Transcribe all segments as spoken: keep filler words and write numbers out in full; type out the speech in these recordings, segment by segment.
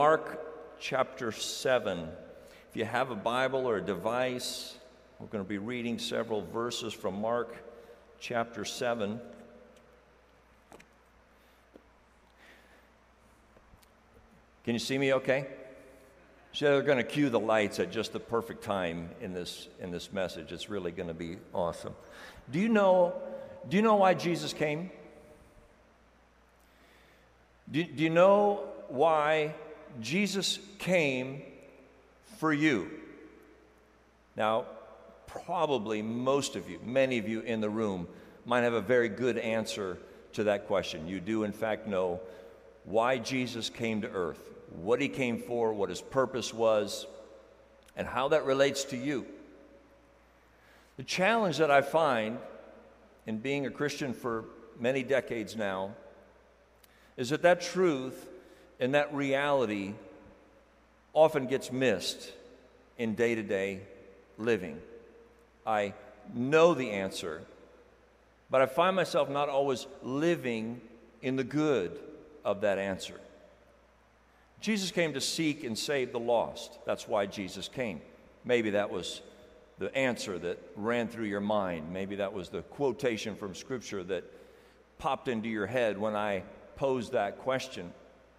Mark chapter seven. If you have a Bible or a device, we're going to be reading several verses from Mark chapter seven. Can you see me okay? So they're going to cue the lights at just the perfect time in this in this message. It's really going to be awesome. Do you know do you know why Jesus came? Do, do you know why Jesus came for you? Now, probably most of you, many of you in the room might have a very good answer to that question. You do, in fact, know why Jesus came to earth, what he came for, what his purpose was, and how that relates to you. The challenge that I find in being a Christian for many decades now is that that truth and that reality often gets missed in day-to-day living. I know the answer, but I find myself not always living in the good of that answer. Jesus came to seek and save the lost. That's why Jesus came. Maybe that was the answer that ran through your mind. Maybe that was the quotation from Scripture that popped into your head when I posed that question.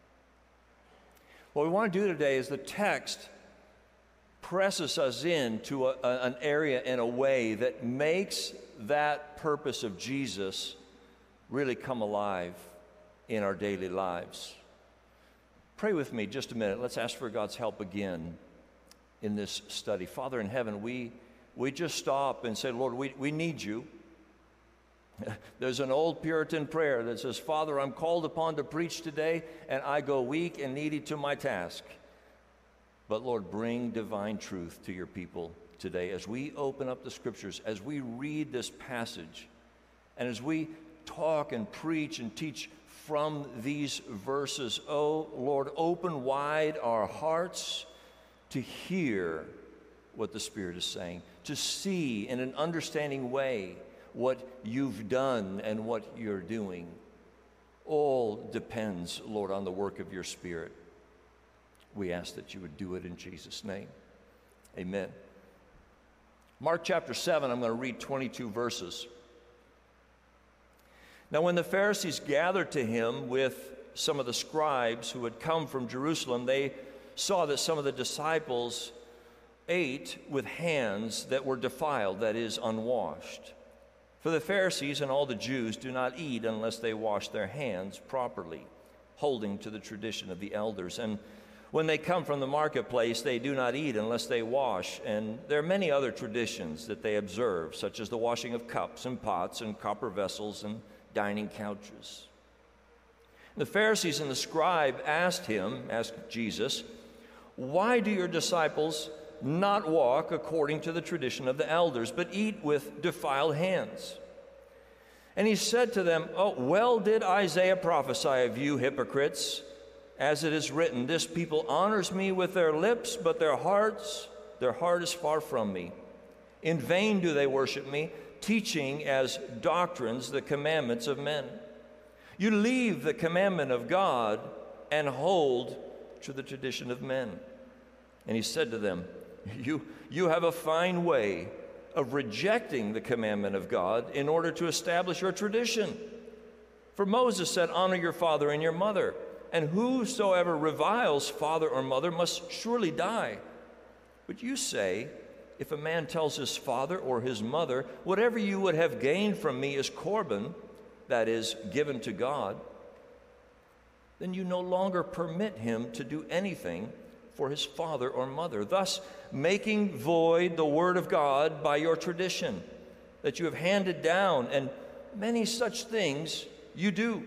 What we want to do today is the text presses us into a, a, an area in a way that makes that purpose of Jesus really come alive in our daily lives. Pray with me just a minute. Let's ask for God's help again in this study. Father in heaven, we, we just stop and say, Lord, we, we need you. There's an old Puritan prayer that says, Father, I'm called upon to preach today, and I go weak and needy to my task. But Lord, bring divine truth to your people today as we open up the Scriptures, as we read this passage, and as we talk and preach and teach from these verses. Oh, Lord, open wide our hearts to hear what the Spirit is saying, to see in an understanding way what you've done and what you're doing. All depends, Lord, on the work of your Spirit. We ask that you would do it in Jesus' name. Amen. Mark chapter seven, I'm going to read twenty-two verses. Now, when the Pharisees gathered to him with some of the scribes who had come from Jerusalem, they saw that some of the disciples ate with hands that were defiled, that is, unwashed. For the Pharisees and all the Jews do not eat unless they wash their hands properly, holding to the tradition of the elders. And when they come from the marketplace, they do not eat unless they wash. And there are many other traditions that they observe, such as the washing of cups and pots and copper vessels and dining couches. The Pharisees and the scribe asked him, asked Jesus, why do your disciples not walk according to the tradition of the elders, but eat with defiled hands? And he said to them, oh, well did Isaiah prophesy of you hypocrites, as it is written, this people honors me with their lips, but their hearts, their heart is far from me. In vain do they worship me, teaching as doctrines the commandments of men. You leave the commandment of God and hold to the tradition of men. And he said to them, You, you have a fine way of rejecting the commandment of God in order to establish your tradition. For Moses said, honor your father and your mother, and whosoever reviles father or mother must surely die. But you say, if a man tells his father or his mother, whatever you would have gained from me is Corban, that is, given to God, then you no longer permit him to do anything for his father or mother, thus making void the word of God by your tradition that you have handed down, and many such things you do.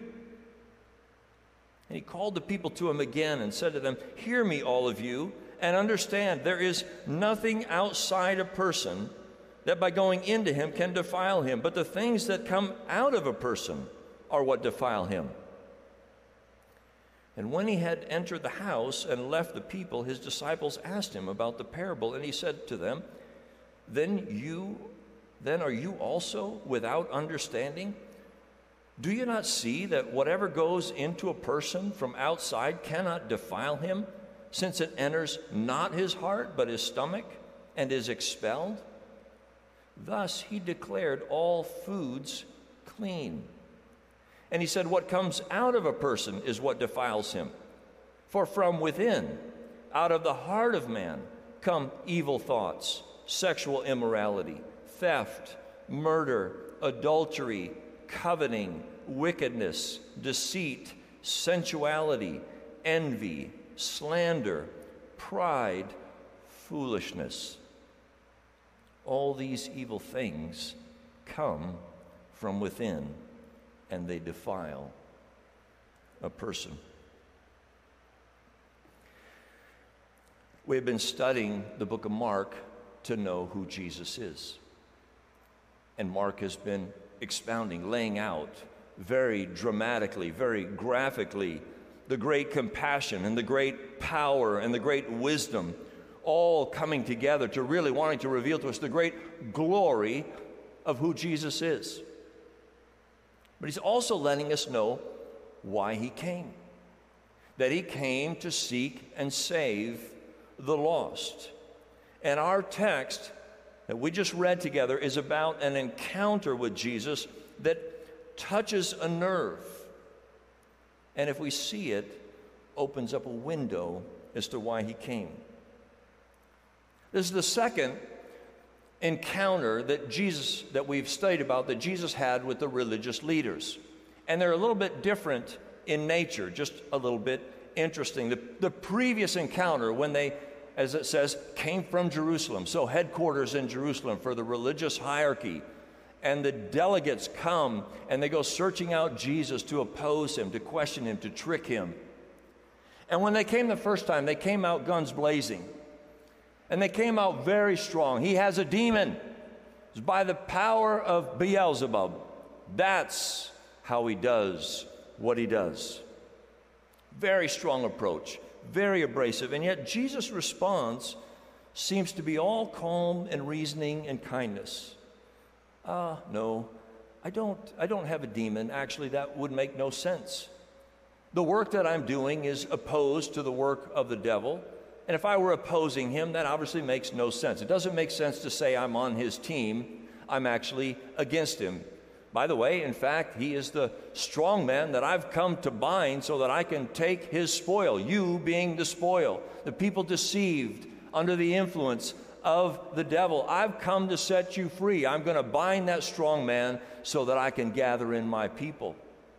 And he called the people to him again and said to them, hear me, all of you, and understand there is nothing outside a person that by going into him can defile him, but the things that come out of a person are what defile him. And when he had entered the house and left the people, his disciples asked him about the parable, and he said to them, Then you, then are you also without understanding? Do you not see that whatever goes into a person from outside cannot defile him, since it enters not his heart, but his stomach, and is expelled? Thus he declared all foods clean. And he said, what comes out of a person is what defiles him. For from within, out of the heart of man, come evil thoughts, sexual immorality, theft, murder, adultery, coveting, wickedness, deceit, sensuality, envy, slander, pride, foolishness. All these evil things come from within, and they defile a person. We have been studying the book of Mark to know who Jesus is. And Mark has been expounding, laying out very dramatically, very graphically, the great compassion and the great power and the great wisdom all coming together to really wanting to reveal to us the great glory of who Jesus is. But he's also letting us know why he came. That he came to seek and save the lost. And our text that we just read together is about an encounter with Jesus that touches a nerve. And if we see it, opens up a window as to why he came. This is the second encounter that Jesus, that we've studied about, that Jesus had with the religious leaders. And they're a little bit different in nature, just a little bit interesting. The, the previous encounter, when they, as it says, came from Jerusalem, so headquarters in Jerusalem for the religious hierarchy, and the delegates come and they go searching out Jesus to oppose him, to question him, to trick him. And when they came the first time, they came out guns blazing. And they came out very strong. He has a demon. It's by the power of Beelzebub. That's how he does what he does. Very strong approach, very abrasive. And yet Jesus' response seems to be all calm and reasoning and kindness. Ah, uh, no, I don't, I don't have a demon. Actually, that would make no sense. The work that I'm doing is opposed to the work of the devil. And if I were opposing him, that obviously makes no sense. It doesn't make sense to say I'm on his team. I'm actually against him. By the way, in fact, he is the strong man that I've come to bind so that I can take his spoil, you being the spoil, the people deceived under the influence of the devil. I've come to set you free. I'm going to bind that strong man so that I can gather in my people.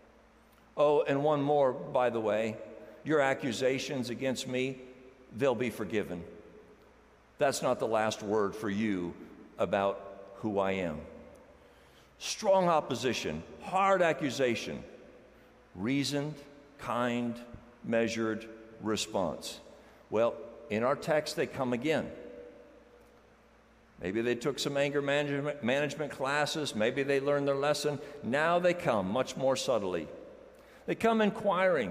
Oh, and one more, by the way, your accusations against me, they'll be forgiven. That's not the last word for you about who I am. Strong opposition, hard accusation, reasoned, kind, measured response. Well, in our text, they come again. Maybe they took some anger management, management classes. Maybe they learned their lesson. Now they come much more subtly. They come inquiring,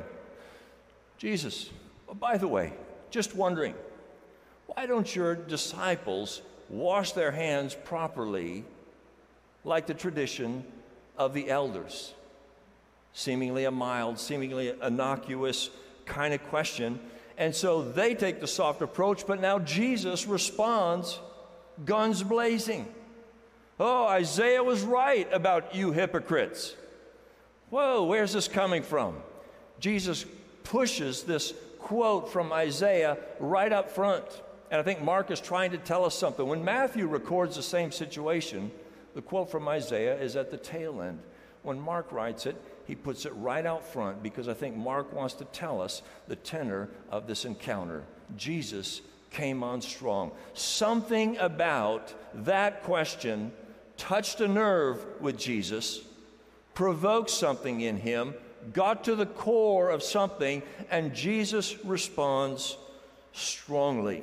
Jesus, oh, by the way, just wondering, why don't your disciples wash their hands properly like the tradition of the elders? Seemingly a mild, seemingly innocuous kind of question. And so they take the soft approach, but now Jesus responds, guns blazing. Oh, Isaiah was right about you hypocrites. Whoa, where's this coming from? Jesus pushes this quote from Isaiah right up front. And I think Mark is trying to tell us something. When Matthew records the same situation, the quote from Isaiah is at the tail end. When Mark writes it, he puts it right out front because I think Mark wants to tell us the tenor of this encounter. Jesus came on strong. Something about that question touched a nerve with Jesus, provoked something in him, got to the core of something, and Jesus responds strongly.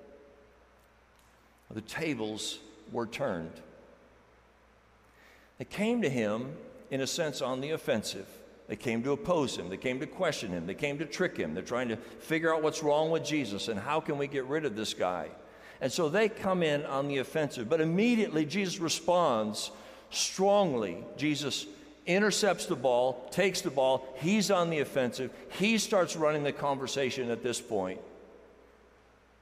The tables were turned. They came to him, in a sense, on the offensive. They came to oppose him. They came to question him. They came to trick him. They're trying to figure out what's wrong with Jesus and how can we get rid of this guy. And so they come in on the offensive. But immediately Jesus responds strongly. Jesus intercepts the ball, takes the ball. He's on the offensive. He starts running the conversation at this point.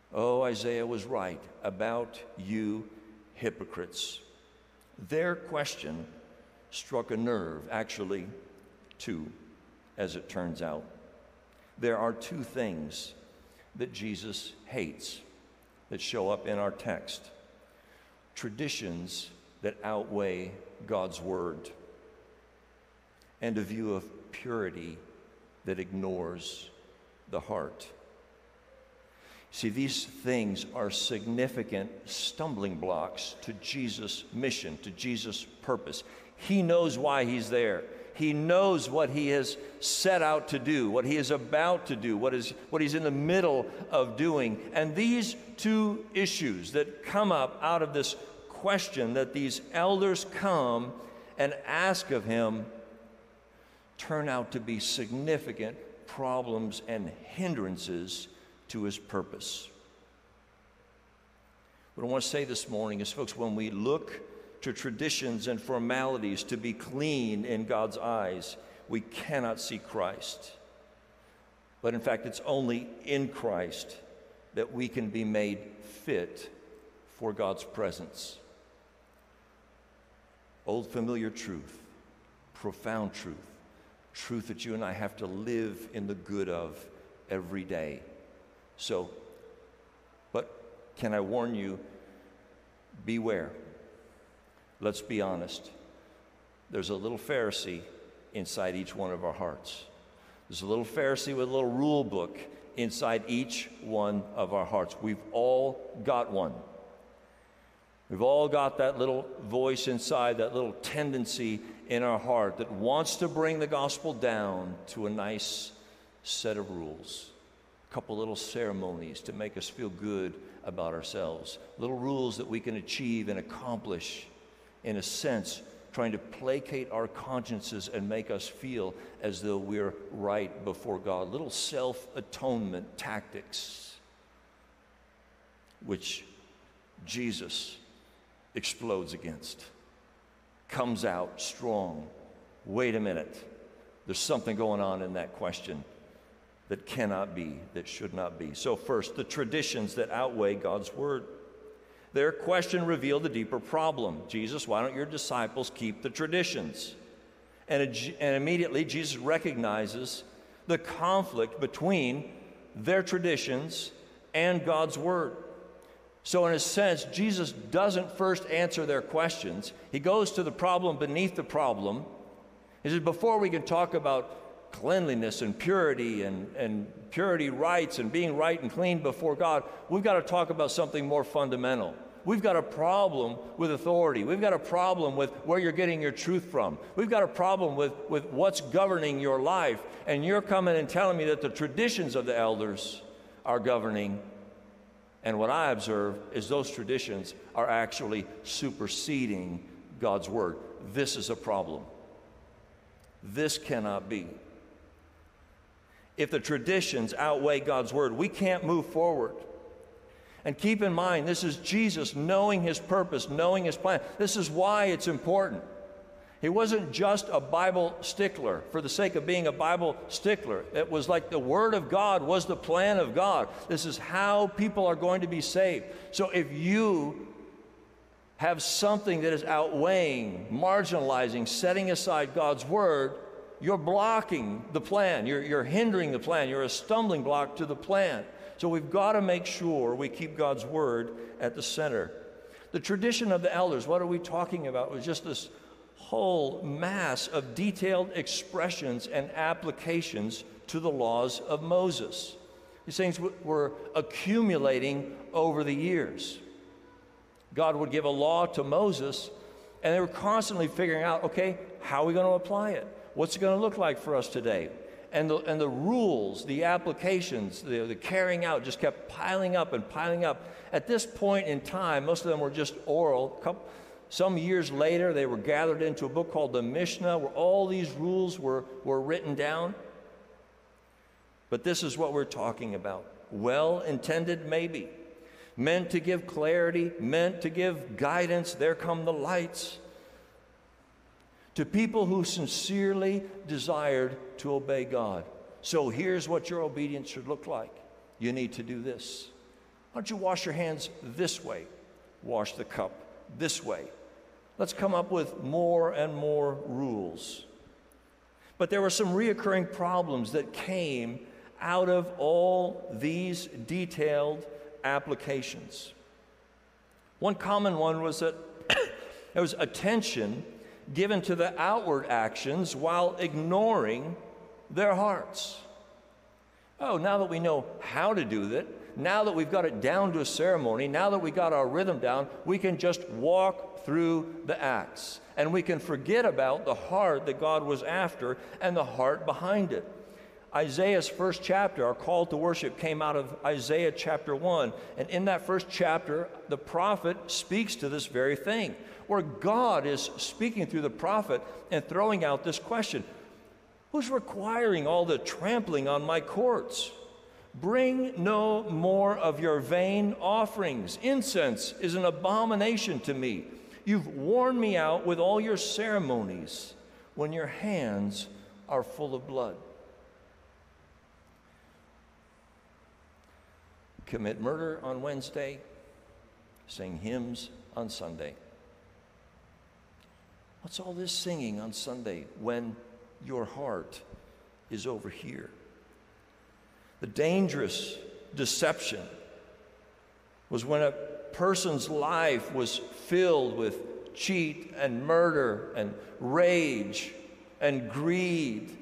Oh, Isaiah was right about you hypocrites. Their question struck a nerve, actually, two, as it turns out. There are two things that Jesus hates that show up in our text: traditions that outweigh God's word, and a view of purity that ignores the heart. See, these things are significant stumbling blocks to Jesus' mission, to Jesus' purpose. He knows why he's there. He knows what he has set out to do, what he is about to do, what is what he's in the middle of doing. And these two issues that come up out of this question that these elders come and ask of him turn out to be significant problems and hindrances to his purpose. What I want to say this morning is, folks, when we look to traditions and formalities to be clean in God's eyes, we cannot see Christ. But in fact, it's only in Christ that we can be made fit for God's presence. Old familiar truth, profound truth, truth that you and I have to live in the good of every day. So, but can I warn you, beware. Let's be honest. There's a little Pharisee inside each one of our hearts. There's a little Pharisee with a little rule book inside each one of our hearts. We've all got one. We've all got that little voice inside, that little tendency in our heart that wants to bring the gospel down to a nice set of rules. A couple little ceremonies to make us feel good about ourselves. Little rules that we can achieve and accomplish, in a sense, trying to placate our consciences and make us feel as though we're right before God. Little self-atonement tactics, which Jesus explodes against, comes out strong. Wait a minute. There's something going on in that question that cannot be, that should not be. So first, the traditions that outweigh God's word. Their question revealed a deeper problem. Jesus, why don't your disciples keep the traditions? And, and immediately Jesus recognizes the conflict between their traditions and God's word. So in a sense, Jesus doesn't first answer their questions. He goes to the problem beneath the problem. He says, before we can talk about cleanliness and purity and, and purity rights and being right and clean before God, we've got to talk about something more fundamental. We've got a problem with authority. We've got a problem with where you're getting your truth from. We've got a problem with, with what's governing your life. And you're coming and telling me that the traditions of the elders are governing. And what I observe is those traditions are actually superseding God's word. This is a problem. This cannot be. If the traditions outweigh God's word, we can't move forward. And keep in mind, this is Jesus knowing his purpose, knowing his plan. This is why it's important. He wasn't just a Bible stickler for the sake of being a Bible stickler. It was like the Word of God was the plan of God. This is how people are going to be saved. So if you have something that is outweighing, marginalizing, setting aside God's Word, you're blocking the plan. You're, you're hindering the plan. You're a stumbling block to the plan. So we've got to make sure we keep God's Word at the center. The tradition of the elders, what are we talking about? It was just this whole mass of detailed expressions and applications to the laws of Moses. These things were accumulating over the years. God would give a law to Moses, and they were constantly figuring out, okay, how are we going to apply it? What's it going to look like for us today? And the, and the rules, the applications, the, the carrying out just kept piling up and piling up. At this point in time, most of them were just oral. Couple, Some years later, they were gathered into a book called the Mishnah, where all these rules were, were written down. But this is what we're talking about. Well-intended, maybe. Meant to give clarity, meant to give guidance. There come the lights. To people who sincerely desired to obey God. So here's what your obedience should look like. You need to do this. Why don't you wash your hands this way? Wash the cup this way. Let's come up with more and more rules. But there were some reoccurring problems that came out of all these detailed applications. One common one was that there was attention given to the outward actions while ignoring their hearts. Oh, now that we know how to do that, now that we've got it down to a ceremony, now that we got our rhythm down, we can just walk through the acts. And we can forget about the heart that God was after and the heart behind it. Isaiah's first chapter, our call to worship, came out of Isaiah chapter one. And in that first chapter, the prophet speaks to this very thing, where God is speaking through the prophet and throwing out this question: who's requiring all the trampling on my courts? Bring no more of your vain offerings. Incense is an abomination to me. You've worn me out with all your ceremonies when your hands are full of blood. Commit murder on Wednesday, sing hymns on Sunday. What's all this singing on Sunday when your heart is over here? The dangerous deception was when a person's life was filled with cheat and murder and rage and greed.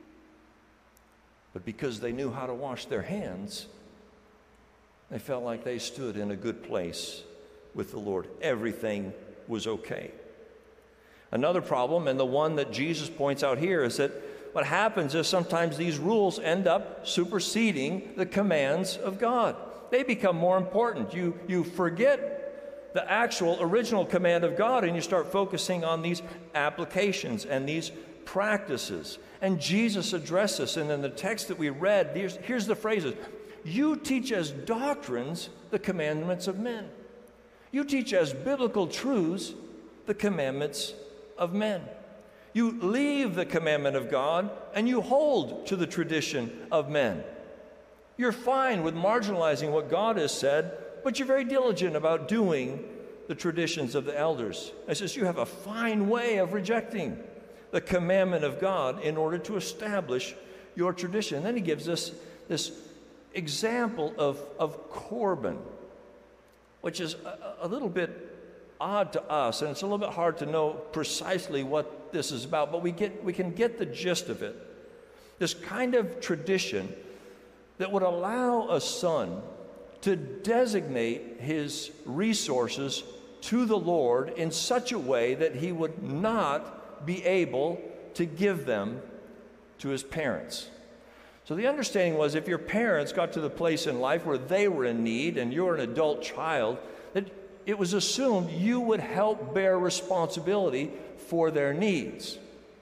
But because they knew how to wash their hands, they felt like they stood in a good place with the Lord. Everything was okay. Another problem, and the one that Jesus points out here, is that what happens is sometimes these rules end up superseding the commands of God. They become more important. You, you forget the actual original command of God, and you start focusing on these applications and these practices. And Jesus addressed this, and in the text that we read, here's, here's the phrases. You teach as doctrines the commandments of men. You teach as biblical truths the commandments of men. You leave the commandment of God and you hold to the tradition of men. You're fine with marginalizing what God has said, but you're very diligent about doing the traditions of the elders. It says you have a fine way of rejecting the commandment of God in order to establish your tradition. And then he gives us this example of, of Corban, which is a, a little bit odd to us, and it's a little bit hard to know precisely what this is about, but we get we can get the gist of it. This kind of tradition that would allow a son to designate his resources to the Lord in such a way that he would not be able to give them to his parents. So the understanding was, if your parents got to the place in life where they were in need and you're an adult child, that it was assumed you would help bear responsibility for their needs.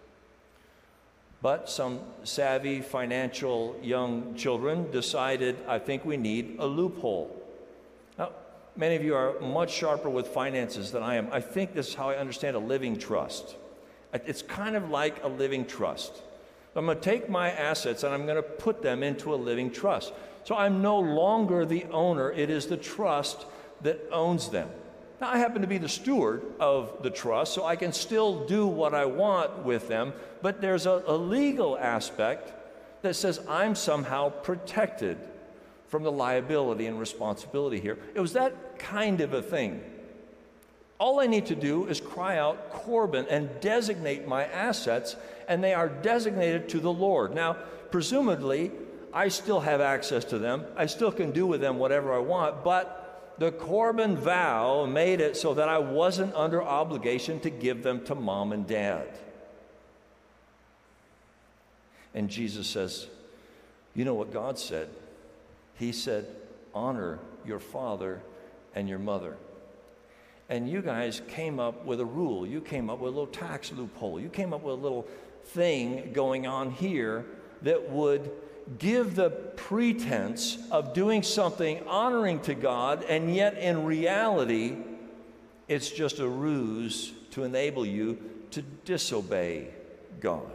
But some savvy financial young children decided, I think we need a loophole. Now, many of you are much sharper with finances than I am. I think this is how I understand a living trust. It's kind of like a living trust. I'm going to take my assets and I'm going to put them into a living trust. So I'm no longer the owner. It is the trust that owns them. Now, I happen to be the steward of the trust, so I can still do what I want with them, but there's a, a legal aspect that says I'm somehow protected from the liability and responsibility here. It was that kind of a thing. All I need to do is cry out Corban and designate my assets, and they are designated to the Lord. Now, presumably, I still have access to them. I still can do with them whatever I want, but the Corban vow made it so that I wasn't under obligation to give them to mom and dad. And Jesus says, you know what God said? He said, honor your father and your mother. And you guys came up with a rule. You came up with a little tax loophole. You came up with a little thing going on here that would give the pretense of doing something honoring to God, and yet in reality, it's just a ruse to enable you to disobey God.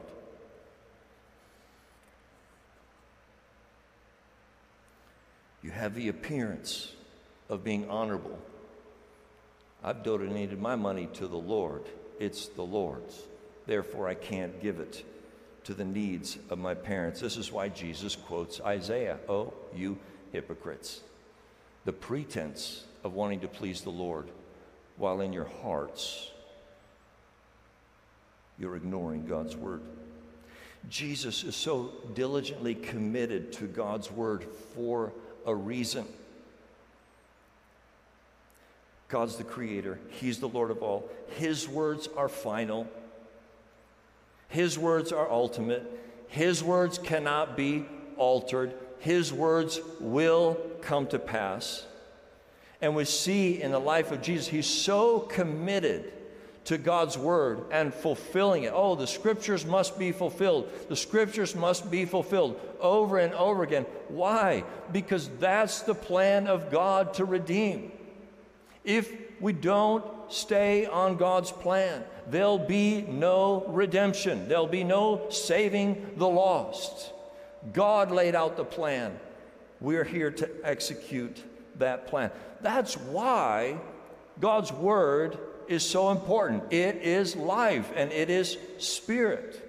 You have the appearance of being honorable. I've donated my money to the Lord. It's the Lord's. Therefore, I can't give it to the needs of my parents. This is why Jesus quotes Isaiah. Oh, you hypocrites. The pretense of wanting to please the Lord, while in your hearts you're ignoring God's word. Jesus is so diligently committed to God's word for a reason. God's the creator. He's the Lord of all. His words are final. His words are ultimate. His words cannot be altered. His words will come to pass. And we see in the life of Jesus, he's so committed to God's word and fulfilling it. Oh, the scriptures must be fulfilled. The scriptures must be fulfilled over and over again. Why? Because that's the plan of God to redeem. If we don't stay on God's plan, there'll be no redemption. There'll be no saving the lost. God laid out the plan. We're here to execute that plan. That's why God's word is so important. It is life and it is spirit.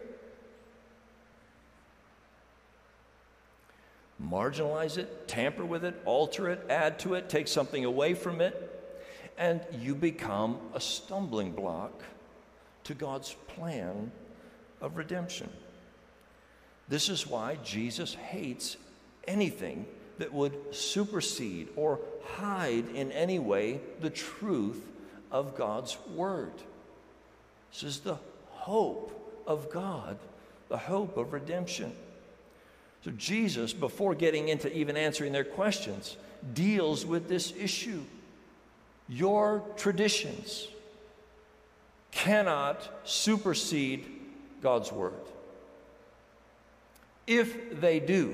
Marginalize it, tamper with it, alter it, add to it, take something away from it, and you become a stumbling block to God's plan of redemption. This is why Jesus hates anything that would supersede or hide in any way the truth of God's word. This is the hope of God, the hope of redemption. So Jesus, before getting into even answering their questions, deals with this issue. Your traditions cannot supersede God's word. If they do,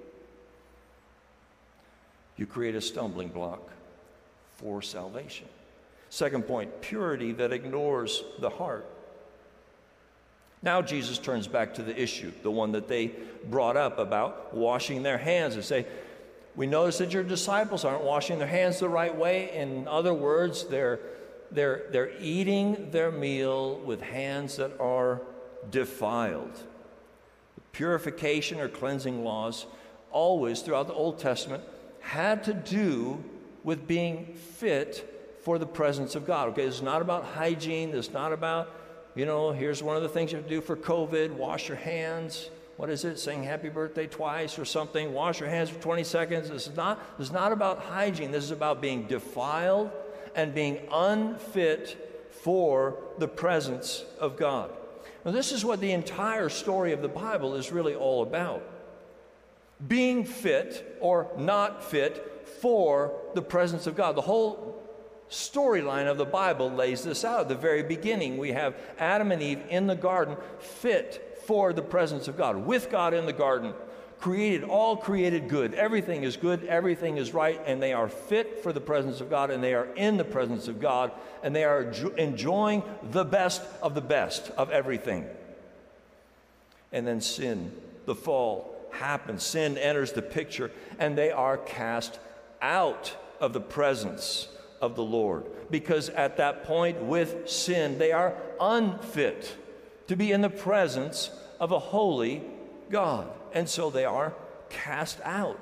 you create a stumbling block for salvation. Second point, purity that ignores the heart. Now Jesus turns back to the issue, the one that they brought up about washing their hands, and say, we notice that your disciples aren't washing their hands the right way. In other words, they're, they're, they're eating their meal with hands that are defiled. The purification or cleansing laws always throughout the Old Testament had to do with being fit for the presence of God. Okay, it's not about hygiene. It's not about, you know, here's one of the things you have to do for COVID, wash your hands. What is it? Sing happy birthday twice or something. Wash your hands for twenty seconds. This is not, this is not about hygiene. This is about being defiled and being unfit for the presence of God. Now, this is what the entire story of the Bible is really all about. Being fit or not fit for the presence of God. The whole storyline of the Bible lays this out. At the very beginning, we have Adam and Eve in the garden, fit for the presence of God, with God in the garden, created, all created good. Everything is good, everything is right, and they are fit for the presence of God, and they are in the presence of God, and they are enjoying the best of the best of everything. And then sin, the fall, happens. Sin enters the picture, and they are cast out of the presence of the Lord. Because at that point, with sin, they are unfit to be in the presence of a holy God. And so they are cast out.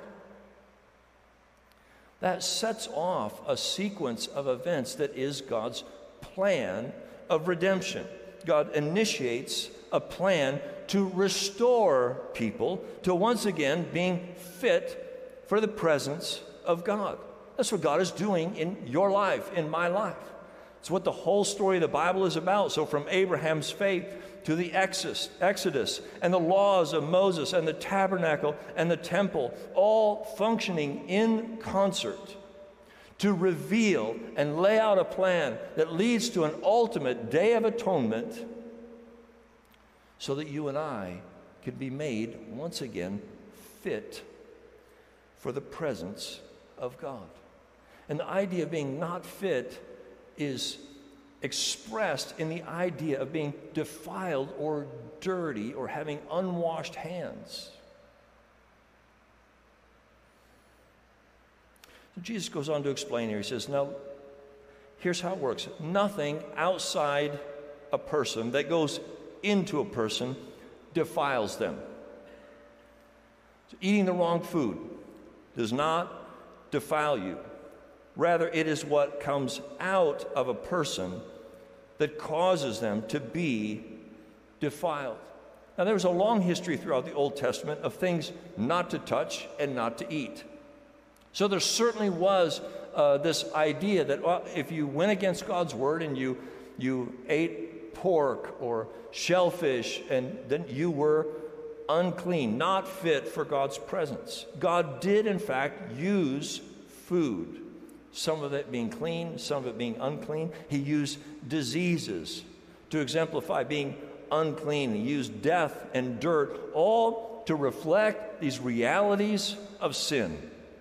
That sets off a sequence of events that is God's plan of redemption. God initiates a plan to restore people to once again being fit for the presence of God. That's what God is doing in your life, in my life. It's what the whole story of the Bible is about. So from Abraham's faith to the Exodus, Exodus and the laws of Moses and the tabernacle and the temple, all functioning in concert to reveal and lay out a plan that leads to an ultimate day of atonement so that you and I can be made once again fit for the presence of God. And the idea of being not fit is expressed in the idea of being defiled or dirty or having unwashed hands. Jesus goes on to explain here. He says, now, here's how it works. Nothing outside a person that goes into a person defiles them. So eating the wrong food does not defile you. Rather, it is what comes out of a person that causes them to be defiled. Now, there was a long history throughout the Old Testament of things not to touch and not to eat. So there certainly was uh, this idea that well, if you went against God's word and you, you ate pork or shellfish, and then you were unclean, not fit for God's presence. God did, in fact, use food, some of it being clean, some of it being unclean. He used diseases to exemplify being unclean. He used death and dirt, all to reflect these realities of sin.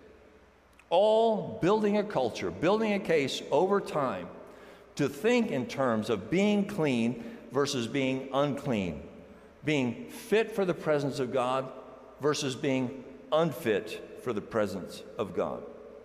All building a culture, building a case over time to think in terms of being clean versus being unclean, being fit for the presence of God versus being unfit for the presence of God.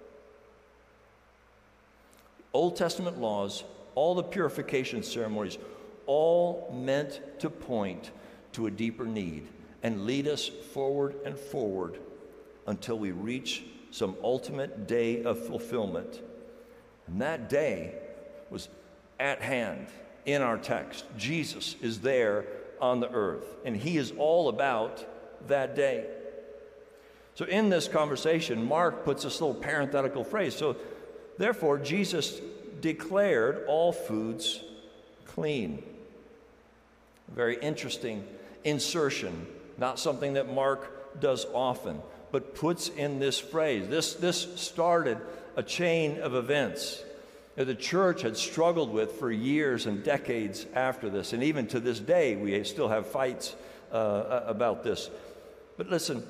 Old Testament laws, all the purification ceremonies, all meant to point to a deeper need and lead us forward and forward until we reach some ultimate day of fulfillment. And that day was at hand in our text. Jesus is there on the earth, and he is all about that day. So in this conversation, Mark puts this little parenthetical phrase. So therefore, Jesus declared all foods clean. A very interesting insertion, not something that Mark does often, but puts in this phrase. This, this started a chain of events that the church had struggled with for years and decades after this. And even to this day, we still have fights uh, about this. But listen,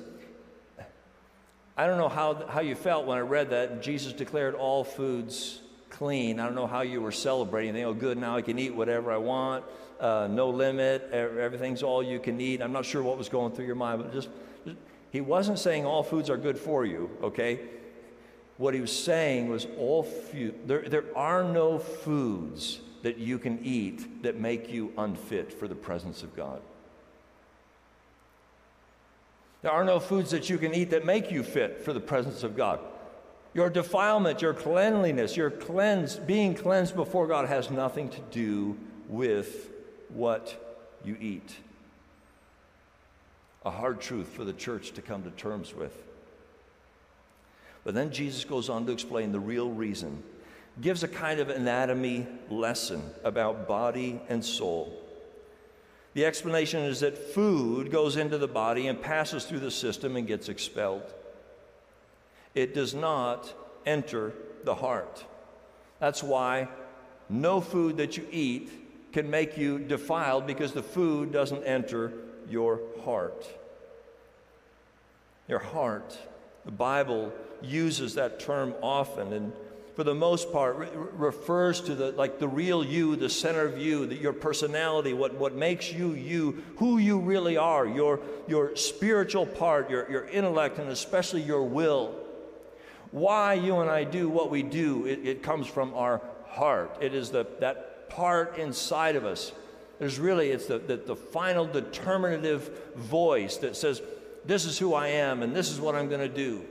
I don't know how, how you felt when I read that Jesus declared all foods clean. I don't know how you were celebrating. They, oh, good, now I can eat whatever I want, uh, no limit, everything's all you can eat. I'm not sure what was going through your mind, but just, just he wasn't saying all foods are good for you, okay? What he was saying was all food, there, there are no foods that you can eat that make you unfit for the presence of God. There are no foods that you can eat that make you fit for the presence of God. Your defilement, your cleanliness, your cleanse, being cleansed before God has nothing to do with what you eat. A hard truth for the church to come to terms with. But then Jesus goes on to explain the real reason, gives a kind of anatomy lesson about body and soul. The explanation is that food goes into the body and passes through the system and gets expelled. It does not enter the heart. That's why no food that you eat can make you defiled, because the food doesn't enter your heart. Your heart. The Bible uses that term often, and for the most part re- refers to the like the real you, the center of you, the, your personality, what, what makes you you, who you really are, your, your spiritual part, your, your intellect, and especially your will. Why you and I do what we do, it, it comes from our heart. It is the, that part inside of us. There's really, it's the, the, the final determinative voice that says, this is who I am and this is what I'm going to do.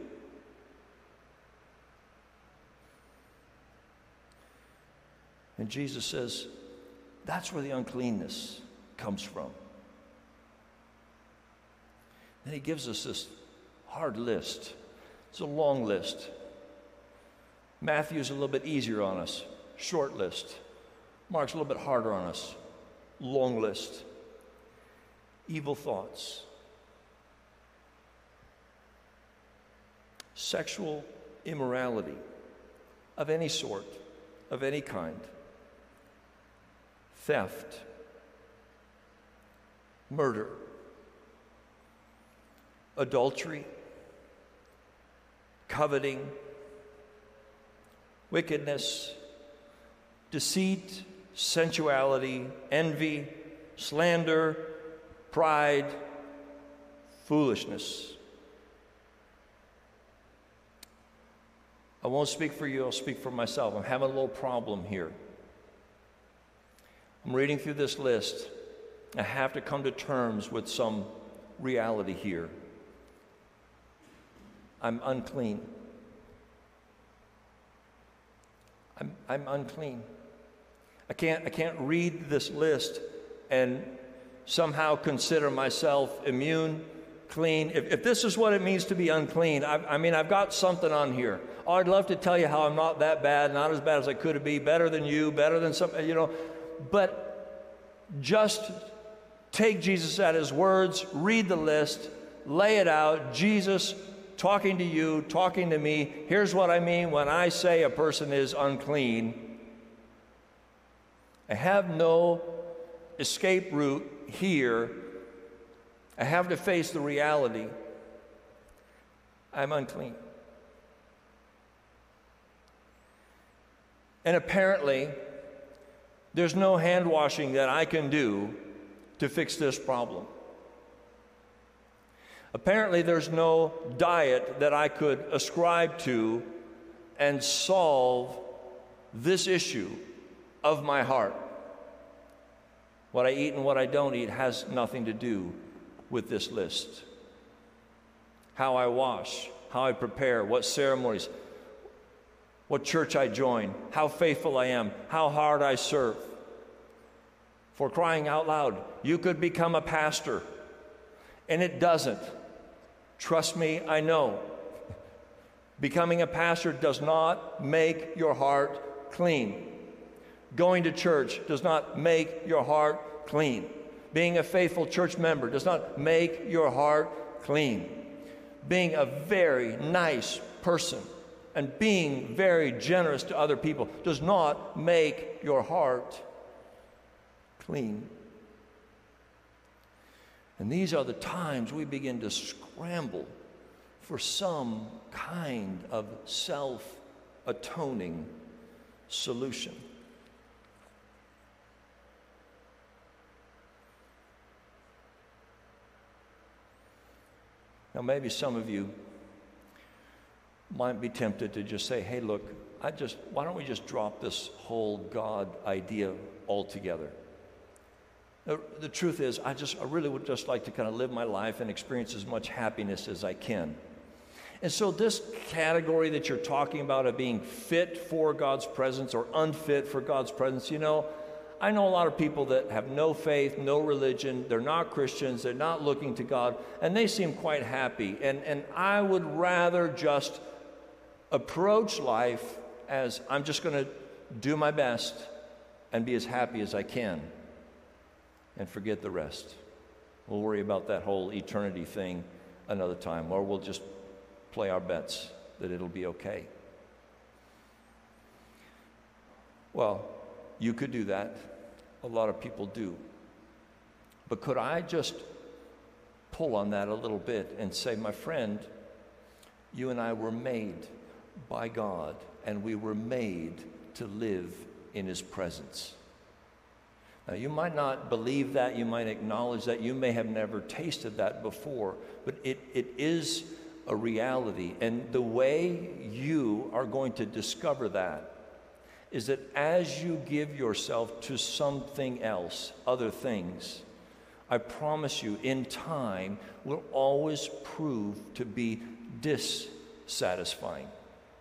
And Jesus says, that's where the uncleanness comes from. Then he gives us this hard list. It's a long list. Matthew's a little bit easier on us, short list. Mark's a little bit harder on us, long list. Evil thoughts, sexual immorality of any sort, of any kind, theft, murder, adultery, coveting, wickedness, deceit, sensuality, envy, slander, pride, foolishness. I won't speak for you, I'll speak for myself. I'm having a little problem here. I'm reading through this list. I have to come to terms with some reality here. I'm unclean. I'm, I'm unclean. I can't, I can't read this list and somehow consider myself immune, clean. If, if this is what it means to be unclean, I, I mean, I've got something on here. Oh, I'd love to tell you how I'm not that bad, not as bad as I could be, better than you, better than some, you know. But just take Jesus at his words, read the list, lay it out. Jesus talking to you, talking to me. Here's what I mean when I say a person is unclean. I have no escape route here. I have to face the reality. I'm unclean. And apparently, there's no hand washing that I can do to fix this problem. Apparently, there's no diet that I could ascribe to and solve this issue of my heart. What I eat and what I don't eat has nothing to do with this list. How I wash, how I prepare, what ceremonies, what church I join, how faithful I am, how hard I serve. For crying out loud, you could become a pastor, and it doesn't. Trust me, I know. Becoming a pastor does not make your heart clean. Going to church does not make your heart clean. Being a faithful church member does not make your heart clean. Being a very nice person and being very generous to other people does not make your heart clean. And these are the times we begin to scramble for some kind of self-atoning solution. Now, maybe some of you might be tempted to just say, hey, look, I just, why don't we just drop this whole God idea altogether? The, the truth is, I just, I really would just like to kind of live my life and experience as much happiness as I can. And so this category that you're talking about of being fit for God's presence or unfit for God's presence, you know, I know a lot of people that have no faith, no religion, they're not Christians, they're not looking to God, and they seem quite happy. And, and I would rather just approach life as I'm just going to do my best and be as happy as I can and forget the rest. We'll worry about that whole eternity thing another time, or we'll just play our bets that it'll be okay. Well, you could do that. A lot of people do. But could I just pull on that a little bit and say, my friend, you and I were made by God, and we were made to live in his presence. Now, you might not believe that, you might acknowledge that, you may have never tasted that before, but it, it is a reality. And the way you are going to discover that is that as you give yourself to something else, other things, I promise you, in time, will always prove to be dissatisfying.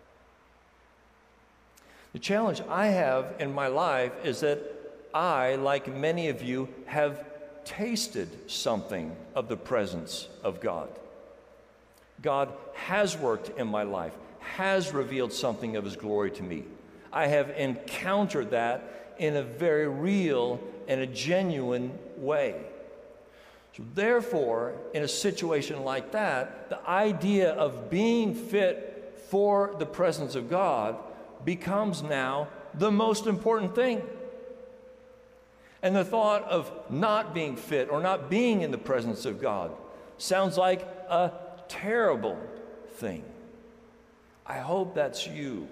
The challenge I have in my life is that I, like many of you, have tasted something of the presence of God. God has worked in my life, has revealed something of his glory to me. I have encountered that in a very real and a genuine way. So therefore, in a situation like that, the idea of being fit for the presence of God becomes now the most important thing. And the thought of not being fit or not being in the presence of God sounds like a terrible thing. I hope that's you.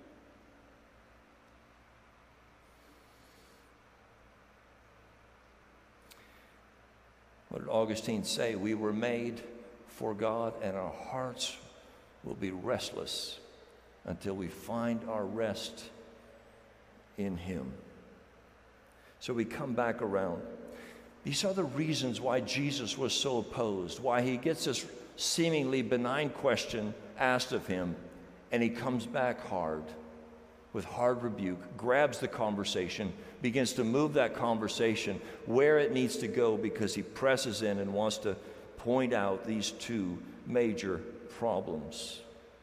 What did Augustine say? We were made for God, and our hearts will be restless until we find our rest in him. So we come back around. These are the reasons why Jesus was so opposed, why he gets this seemingly benign question asked of him, and he comes back hard, with hard rebuke, grabs the conversation, begins to move that conversation where it needs to go, because he presses in and wants to point out these two major problems.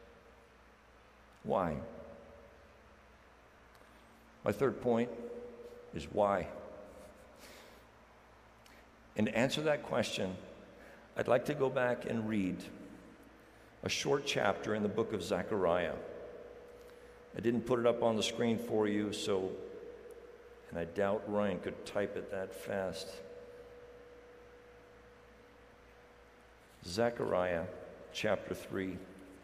Why? My third point is why. And to answer that question, I'd like to go back and read a short chapter in the book of Zechariah. I didn't put it up on the screen for you, so, and I doubt Ryan could type it that fast. Zechariah chapter three.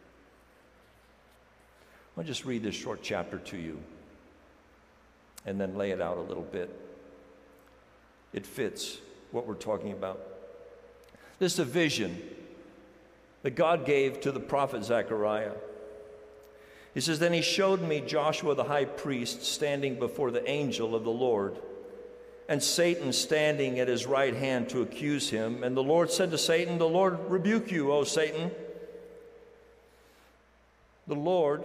I'll just read this short chapter to you and then lay it out a little bit. It fits what we're talking about. This is a vision that God gave to the prophet Zechariah. He says, "Then he showed me Joshua the high priest standing before the angel of the Lord, and Satan standing at his right hand to accuse him. And the Lord said to Satan, 'The Lord rebuke you, O Satan. The Lord,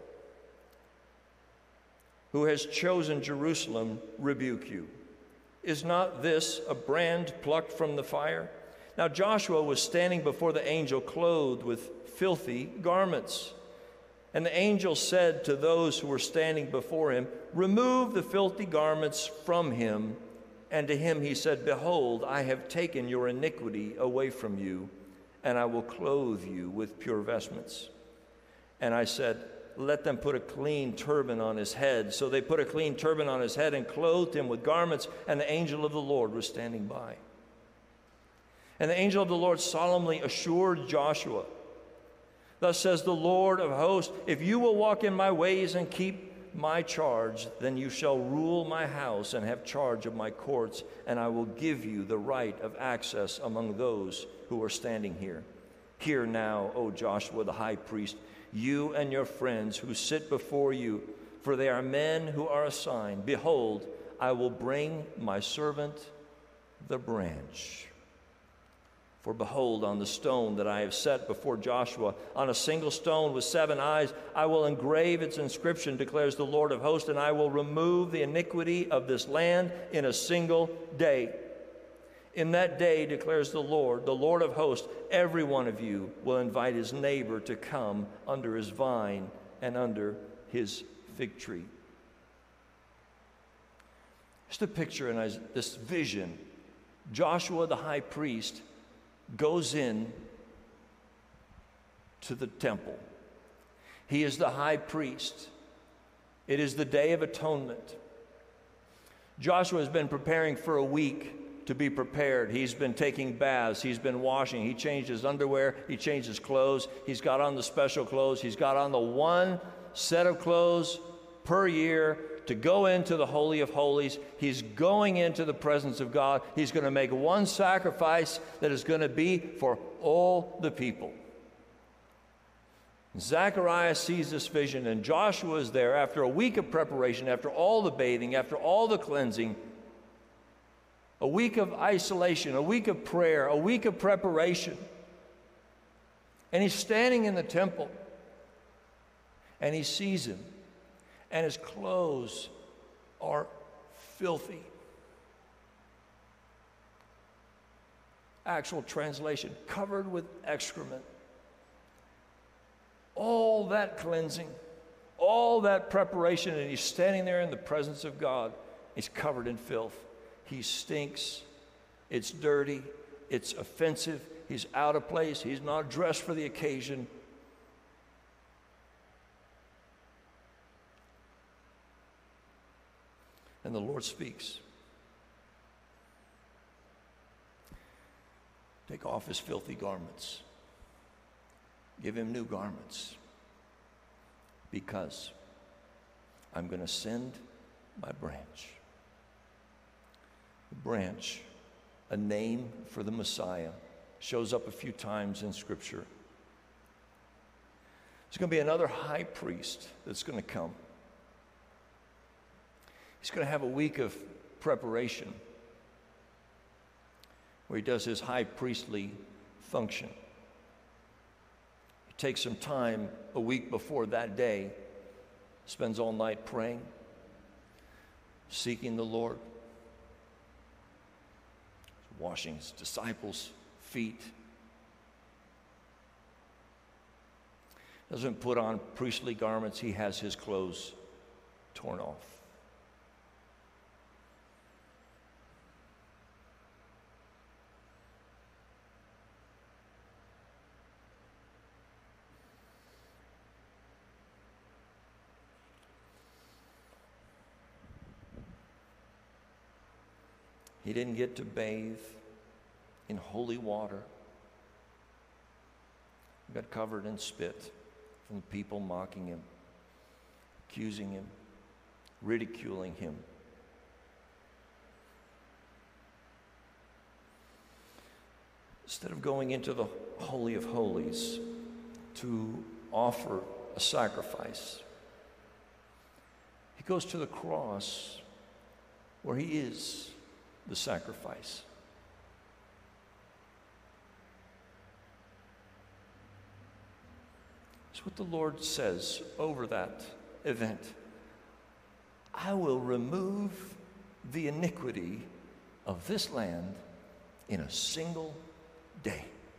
who has chosen Jerusalem, rebuke you. Is not this a brand plucked from the fire?' Now Joshua was standing before the angel clothed with filthy garments. And the angel said to those who were standing before him, 'Remove the filthy garments from him.' And to him he said, 'Behold, I have taken your iniquity away from you, and I will clothe you with pure vestments.' And I said, 'Let them put a clean turban on his head.' So they put a clean turban on his head and clothed him with garments, and the angel of the Lord was standing by. And the angel of the Lord solemnly assured Joshua, 'Thus says the Lord of hosts, if you will walk in my ways and keep my charge, then you shall rule my house and have charge of my courts, and I will give you the right of access among those who are standing here. Hear now, O Joshua the high priest, you and your friends who sit before you, for they are men who are assigned. Behold, I will bring my servant the branch. For behold, on the stone that I have set before Joshua, on a single stone with seven eyes, I will engrave its inscription, declares the Lord of hosts, and I will remove the iniquity of this land in a single day. In that day, declares the Lord, the Lord of hosts, every one of you will invite his neighbor to come under his vine and under his fig tree.'" Just a picture in this vision. Joshua the high priest goes in to the temple. He is the high priest. It is the Day of Atonement. Joshua has been preparing for a week to be prepared. He's been taking baths. He's been washing. He changed his underwear. He changed his clothes. He's got on the special clothes. He's got on the one set of clothes per year to go into the Holy of Holies. He's going into the presence of God. He's going to make one sacrifice that is going to be for all the people. Zechariah sees this vision, and Joshua is there after a week of preparation, after all the bathing, after all the cleansing, a week of isolation, a week of prayer, a week of preparation. And he's standing in the temple, and he sees him. And his clothes are filthy. Actual translation, covered with excrement. All that cleansing, all that preparation, and he's standing there in the presence of God. He's covered in filth. He stinks. It's dirty. It's offensive. He's out of place. He's not dressed for the occasion. And the Lord speaks. Take off his filthy garments. Give him new garments. Because I'm going to send my branch. The branch, a name for the Messiah, shows up a few times in Scripture. There's going to be another high priest that's going to come. He's going to have a week of preparation where he does his high priestly function. He takes some time a week before that day, spends all night praying, seeking the Lord, washing his disciples' feet. Doesn't put on priestly garments. He has his clothes torn off. He didn't get to bathe in holy water. He got covered in spit from the people mocking him, accusing him, ridiculing him. Instead of going into the Holy of Holies to offer a sacrifice, he goes to the cross where he is the sacrifice. It's what the Lord says over that event. I will remove the iniquity of this land in a single day.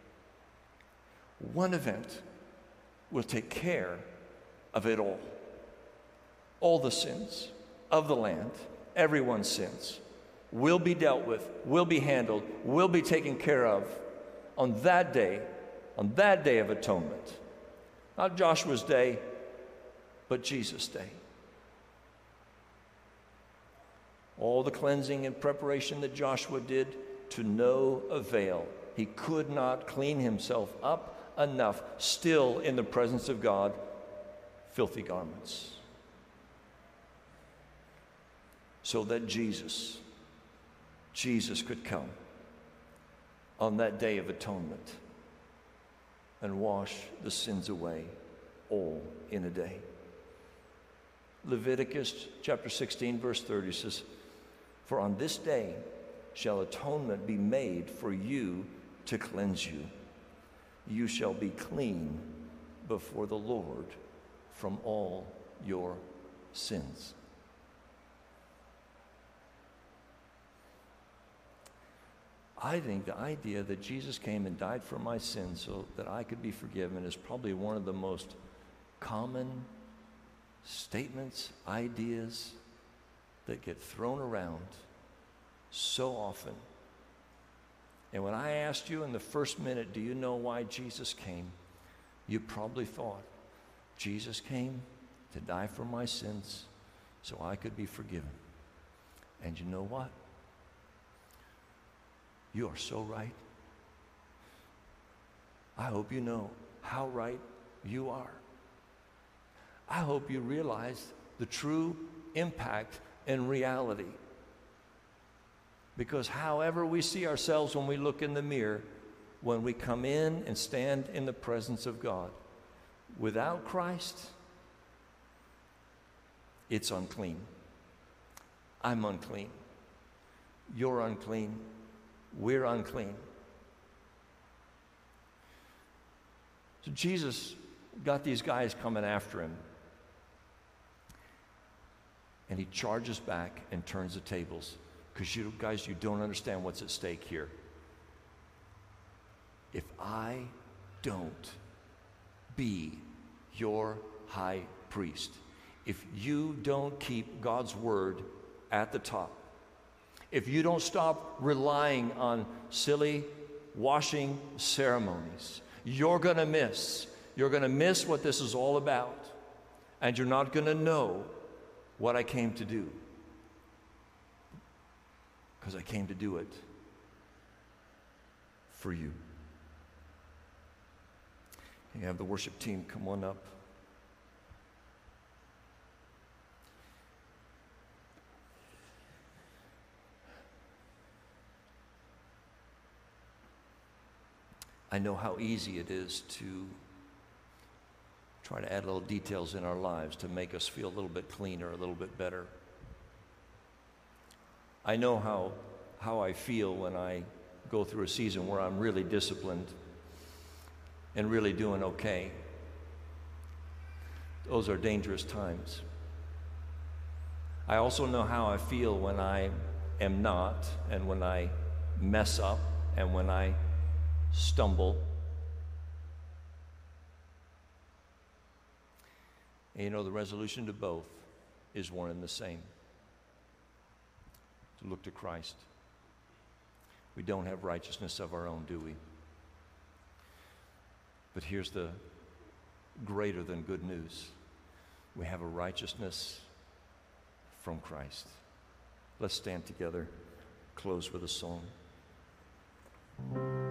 One event will take care of it all. All the sins of the land, everyone's sins, will be dealt with, will be handled, will be taken care of on that day, on that day of atonement. Not Joshua's day, but Jesus' day. All the cleansing and preparation that Joshua did, to no avail. He could not clean himself up enough, still in the presence of God, filthy garments. So that Jesus, Jesus could come on that day of atonement and wash the sins away, all in a day. Leviticus chapter sixteen, verse thirty says, "For on this day shall atonement be made for you to cleanse you. You shall be clean before the Lord from all your sins." I think the idea that Jesus came and died for my sins so that I could be forgiven is probably one of the most common statements, ideas that get thrown around so often. And when I asked you in the first minute, do you know why Jesus came? You probably thought, Jesus came to die for my sins so I could be forgiven. And you know what? You are so right. I hope you know how right you are. I hope you realize the true impact and reality. Because however we see ourselves when we look in the mirror, when we come in and stand in the presence of God, without Christ, it's unclean. I'm unclean. You're unclean. We're unclean. So Jesus got these guys coming after him. And he charges back and turns the tables. Because you guys, you don't understand what's at stake here. If I don't be your high priest, if you don't keep God's word at the top, if you don't stop relying on silly washing ceremonies, you're going to miss. You're going to miss what this is all about. And you're not going to know what I came to do. Because I came to do it for you. Can you have the worship team come on up? I know how easy it is to try to add little details in our lives to make us feel a little bit cleaner, a little bit better. I know how, how I feel when I go through a season where I'm really disciplined and really doing okay. Those are dangerous times. I also know how I feel when I am not, and when I mess up, and when I stumble. And you know, the resolution to both is one and the same: to look to Christ. We don't have righteousness of our own, do we? But here's the greater than good news. We have a righteousness from Christ. Let's stand together, close with a song.